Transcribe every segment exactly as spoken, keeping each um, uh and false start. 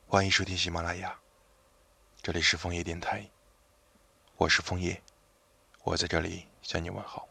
欢迎收听喜马拉雅，这里是枫叶电台，我是枫叶，我在这里向你问好。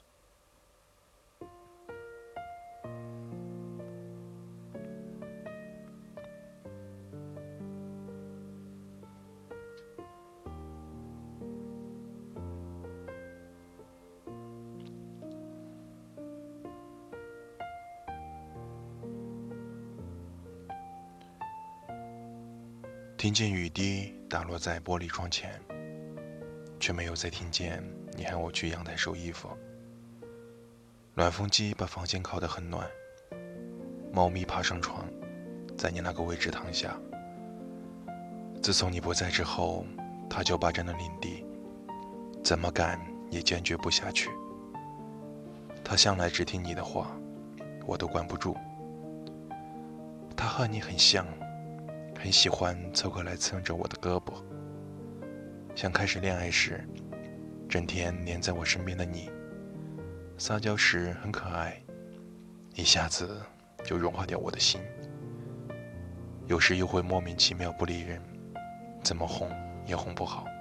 听见雨滴打落在玻璃窗前，却没有再听见你喊我去阳台收衣服。暖风机把房间烤得很暖，猫咪爬上床，在你那个位置躺下。自从你不在之后，它就霸占了领地，怎么赶也坚决不下去。它向来只听你的话，我都管不住。它和你很像，很喜欢凑过来蹭着我的胳膊，像开始恋爱时，整天黏在我身边的你。撒娇时很可爱，一下子就融化掉我的心。有时又会莫名其妙不理人，怎么哄也哄不好。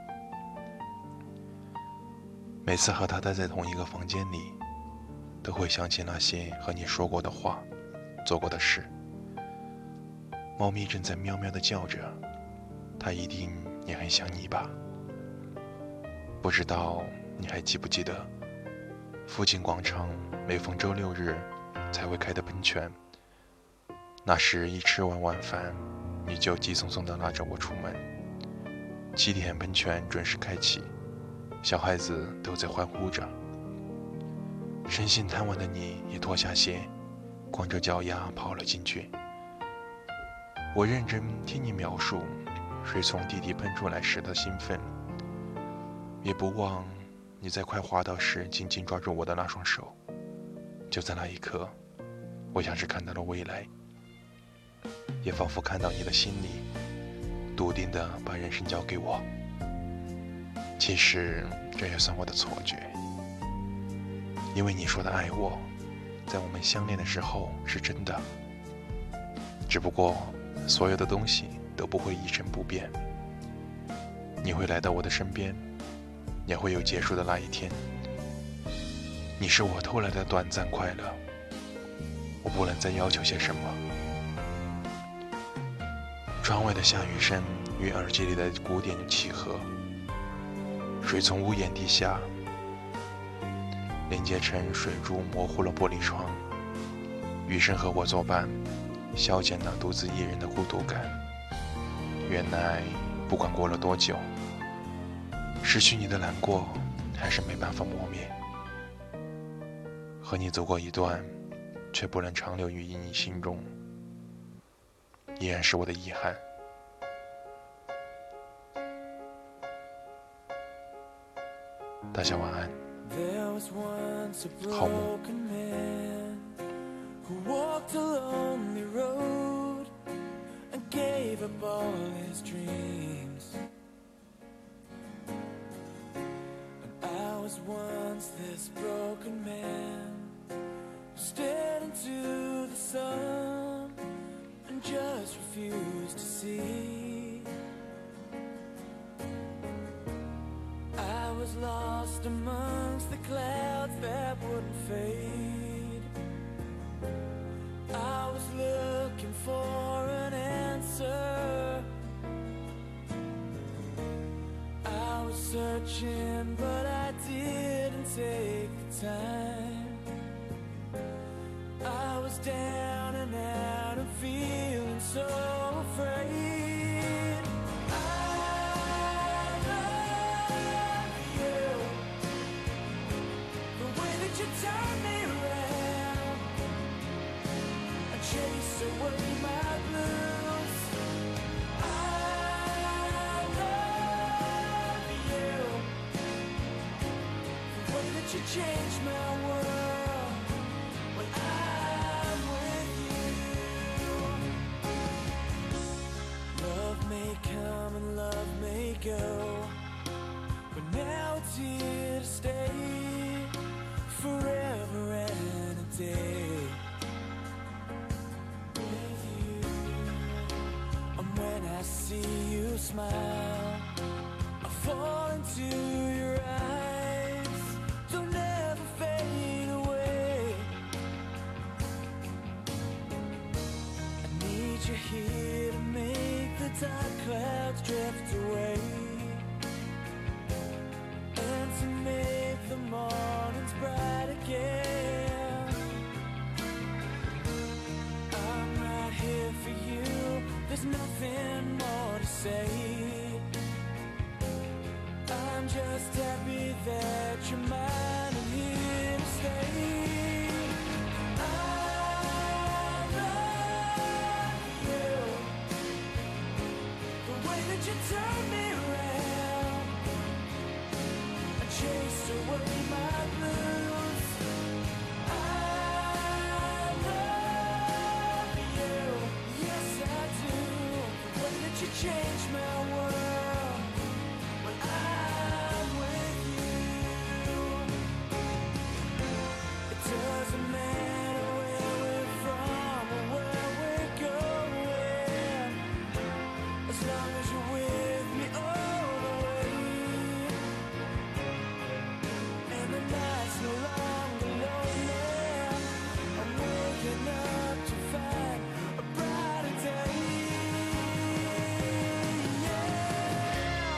每次和他待在同一个房间里，都会想起那些和你说过的话，做过的事。猫咪正在喵喵地叫着，它一定也很想你吧。不知道你还记不记得，附近广场每逢周六日才会开的喷泉。那时一吃完晚饭，你就急匆匆地拉着我出门。七点喷泉准时开启，小孩子都在欢呼着。身心贪玩的你也脱下鞋，光着脚丫跑了进去。我认真听你描述水从地底喷出来时的兴奋，也不忘你在快滑倒时紧紧抓住我的那双手。就在那一刻，我像是看到了未来，也仿佛看到你的心里笃定地把人生交给我。其实这也算我的错觉，因为你说的爱我，在我们相恋的时候是真的，只不过所有的东西都不会一成不变。你会来到我的身边，也会有结束的那一天。你是我偷来的短暂快乐，我不能再要求些什么。窗外的下雨声与耳机里的鼓点契合，水从屋檐滴下，连接成水珠模糊了玻璃窗。雨声和我作伴，消减了独自一人的孤独感。原来不管过了多久，失去你的难过还是没办法磨灭。和你走过一段，却不能长留于你心中，依然是我的遗憾。大家晚安，好梦。 Who walked a lonely road and gave up all his dreams. And I was once this broken man who stared into the sun and just refused to see. I was lost amongst the clouds that wouldn't fade. I was looking for an answer. I was searching, but I didn't take the time. I was down and out and feeling so afraid. I love you, the way that you turn me around, chase away my blues. I love you, the way that you change my world when I'm with you. Love may come and love may go, but now it's here to stay forever and a day. When I see you smile, I fall into your eyes. They'll never fade away. I need you here to make the dark clouds drift away, and to make the mornings bright again. I'm right here for you, there's nothing more to say. I'm just happy that you're mine and here to stay. I love you, the way that you turn me around and chased away my blues. I love you, yes I do, the way that you changed my world when I'm with you. It doesn't matter where we're from or where we're going, as long as you're with me all the way. And the night's no longer lonely, I'm waking up to find a brighter day. Yeah.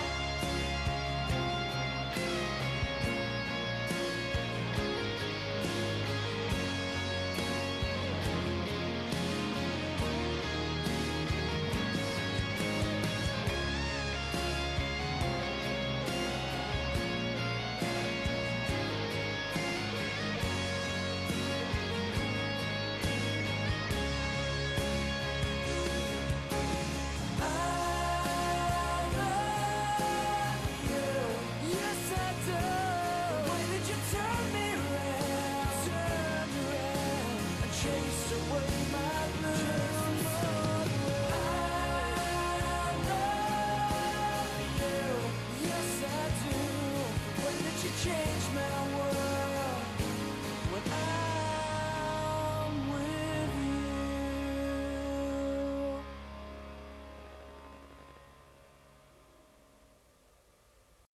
Changed my world.